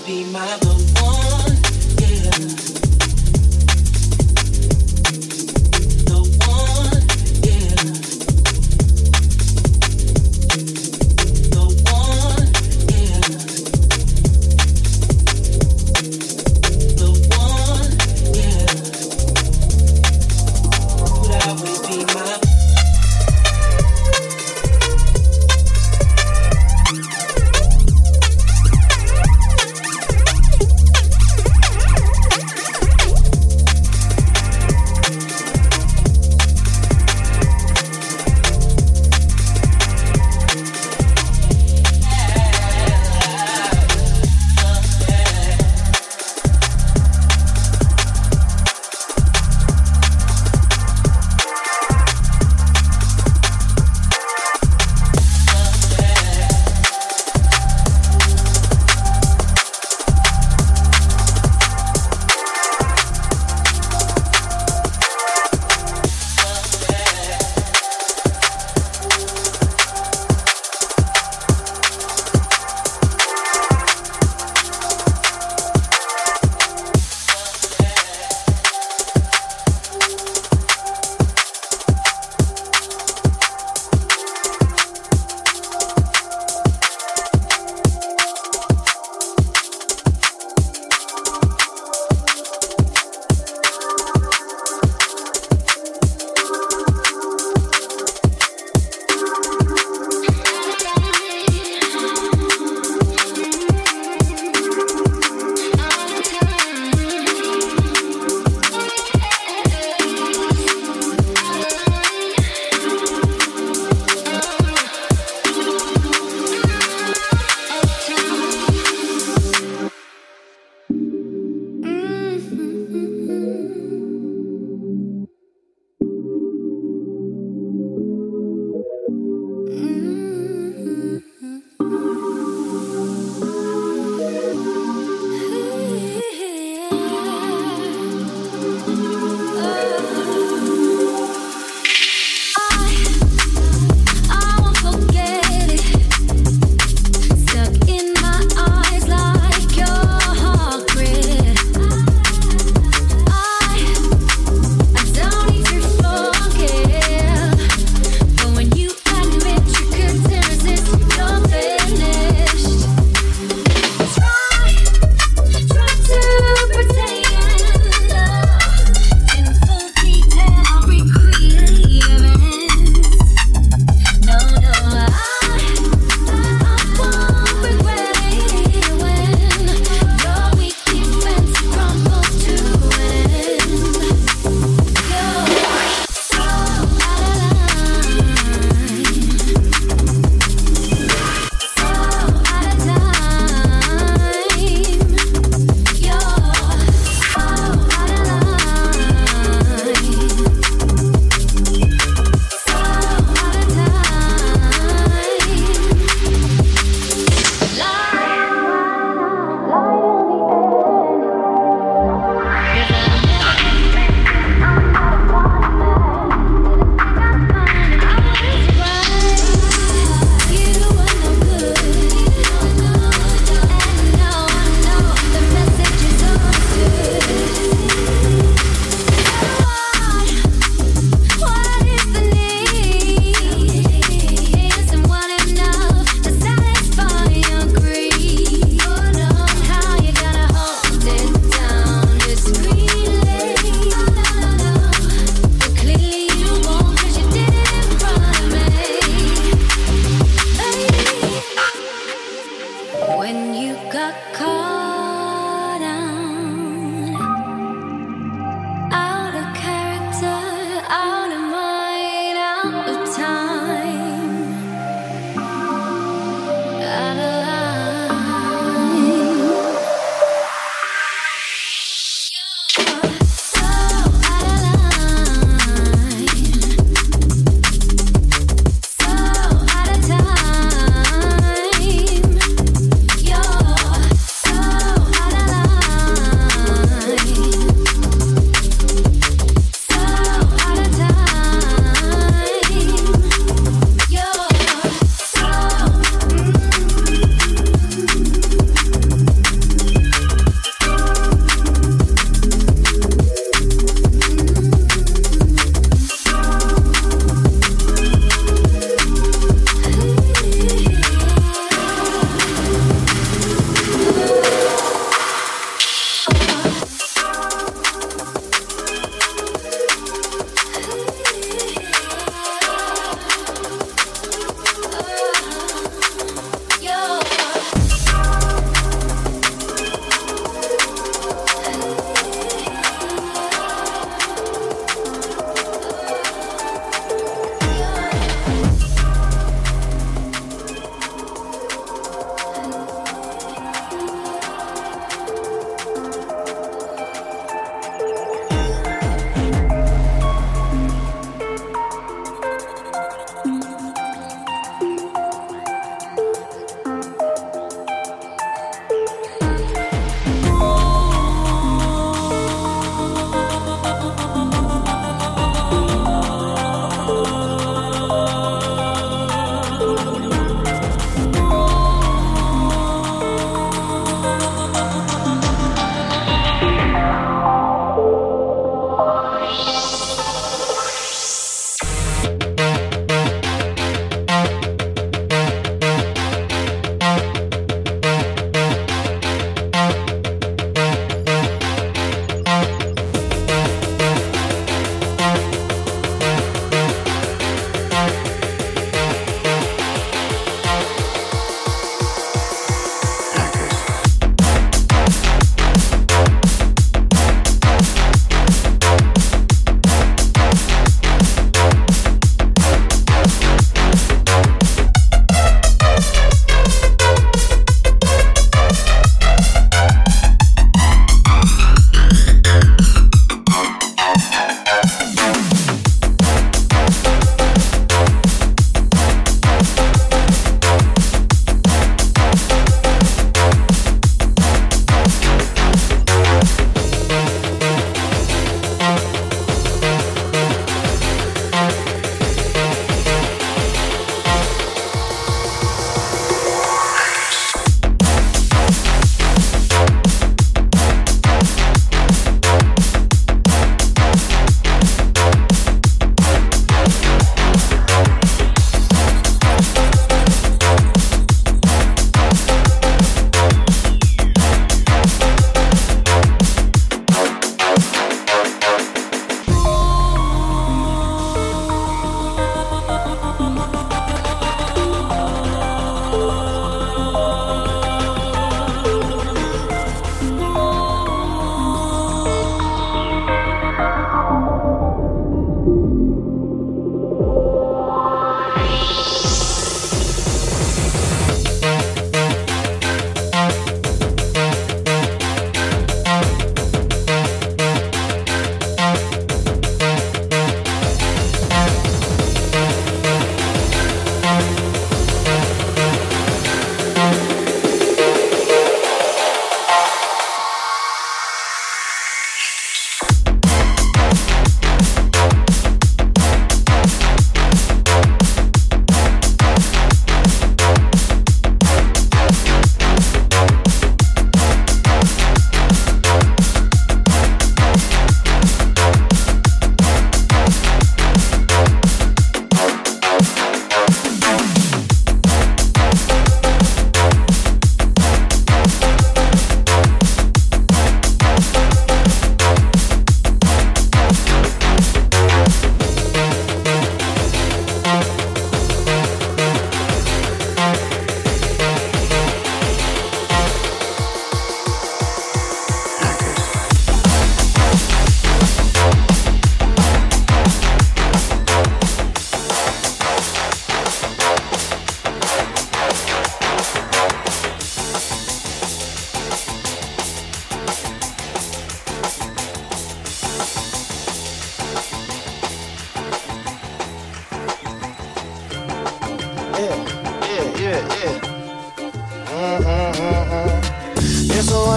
So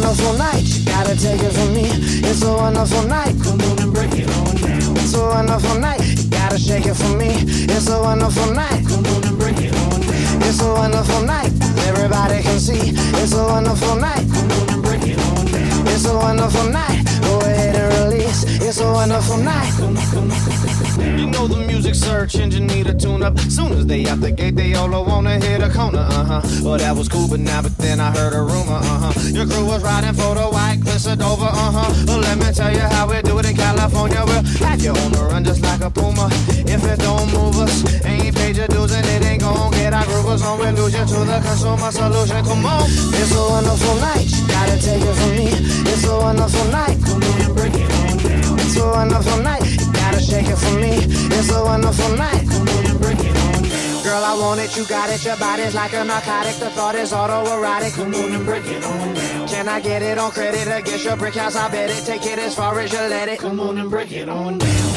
wonderful night, you gotta take it from me. It's a wonderful night, come on and break it on down. It's a wonderful night, you gotta shake it for me. It's a wonderful night, come on and break it on down. It's a wonderful night, everybody can see. It's a wonderful night, come on and break it on down. It's a wonderful night, go ahead and release. It's a wonderful night. You know the music search engine need a tune up. Soon as they out the gate, they all wanna hit a corner, Well, that was cool, but then I heard a rumor, Your crew was riding for the white cliffs of Dover, Well, let me tell you how we do it in California. We'll have you on the run just like a puma. If it don't move us, ain't paid your dues and it ain't gon' get our groovers on. We'll lose you to the consumer solution, come on. It's a wonderful night, you gotta take it from me. It's a wonderful night, come on and break it on down. It's a wonderful night, you gotta shake it for me. It's a wonderful night, come on and break it on down. Girl, I want it, you got it, your body's like a narcotic. The thought is autoerotic, come on and break it on down. Can I get it on credit against your brick house? I bet it, take it as far as you let it. Come on and break it on down.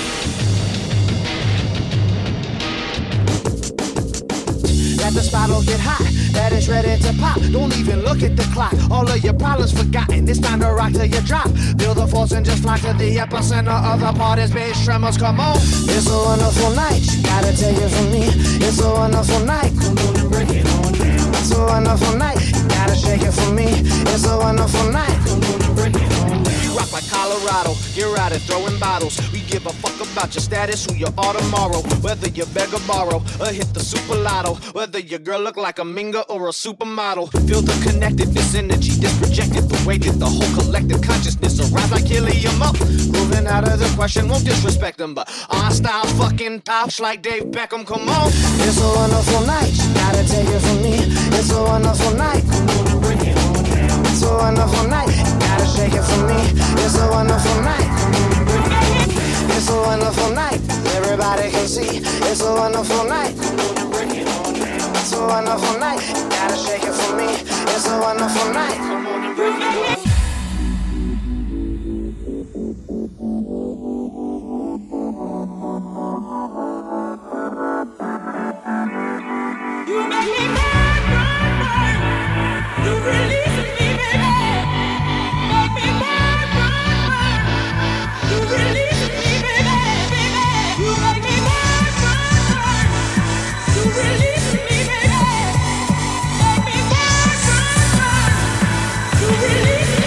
That the spot'll get hot, that it's ready to pop. Don't even look at the clock, all of your problems forgotten. It's time to rock till you drop. Feel the force and just fly to the epicenter of the party's bass tremors, come on. It's a wonderful night, you gotta take it from me. It's a wonderful night, come on and break it on down. It's a wonderful night, you gotta shake it for me. It's a wonderful night, come on and break it on down. We rock like Colorado, you're out and throwing bottles. We give a fuck about your status, who you are tomorrow. Whether you beg or borrow, or hit the super lotto. Whether your girl look like a minga or a supermodel. Feel the connectedness, energy that's projected. The way that the whole collective consciousness arrives like helium up. Moving out of the question, won't disrespect them, but our style fucking tops like Dave Beckham, come on. It's a wonderful night, you gotta take it from me. It's a wonderful night, come on and break it on down. It's a wonderful night, you gotta shake it for me. It's a wonderful night, come on and break it on down. It's a wonderful night, everybody can see. It's a wonderful night, come on and break it on down. It's a wonderful night, you gotta shake it for me. It's a wonderful night, come on and break it on down. You make me burn, burn, burn. You release me, baby. Make me burn, burn, burn. You release me, baby, baby. You make me burn, burn, burn. You release me, baby. Make me burn, burn, burn. You release me.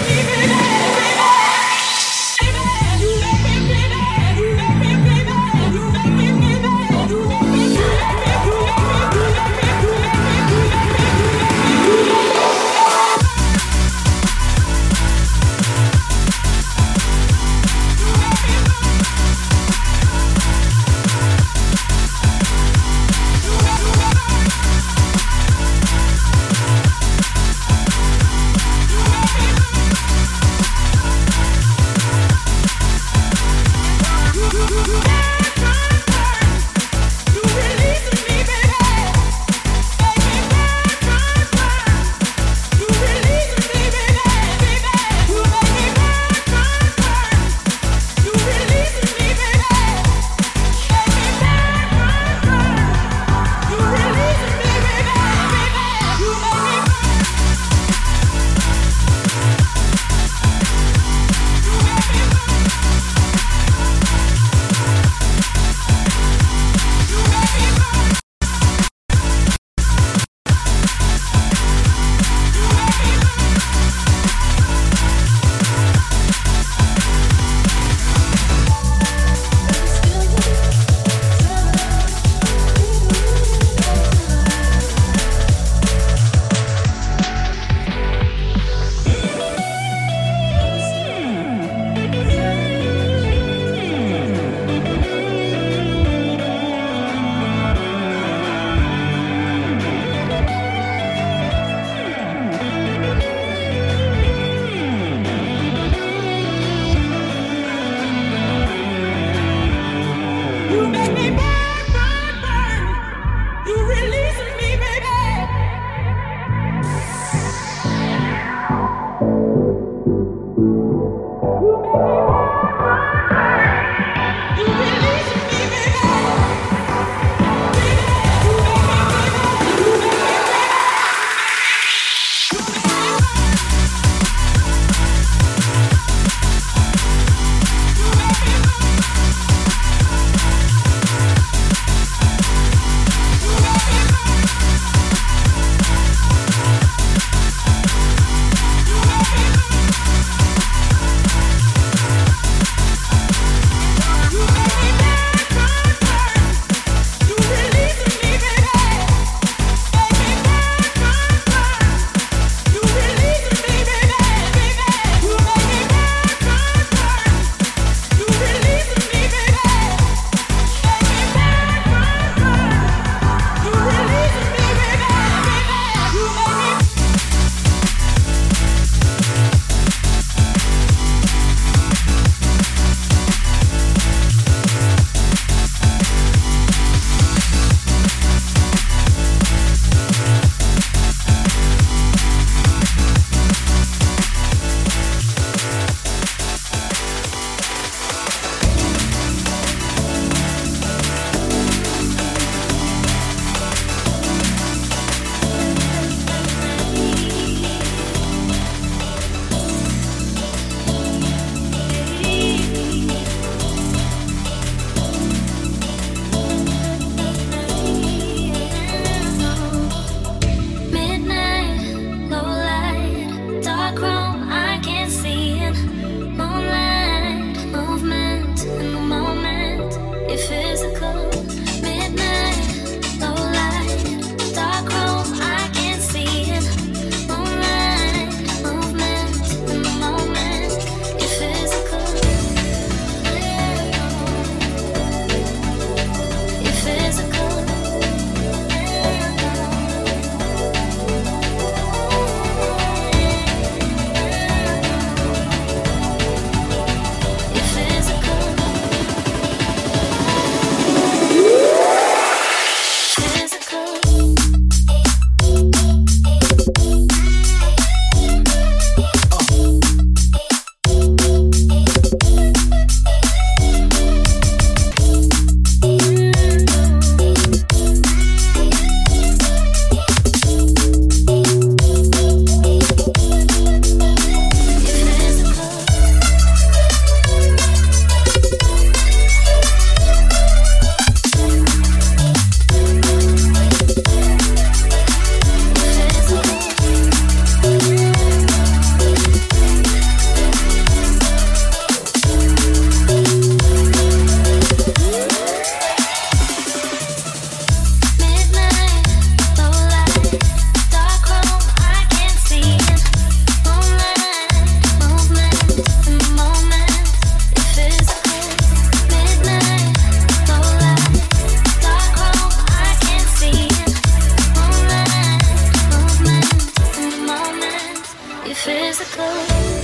Your physical.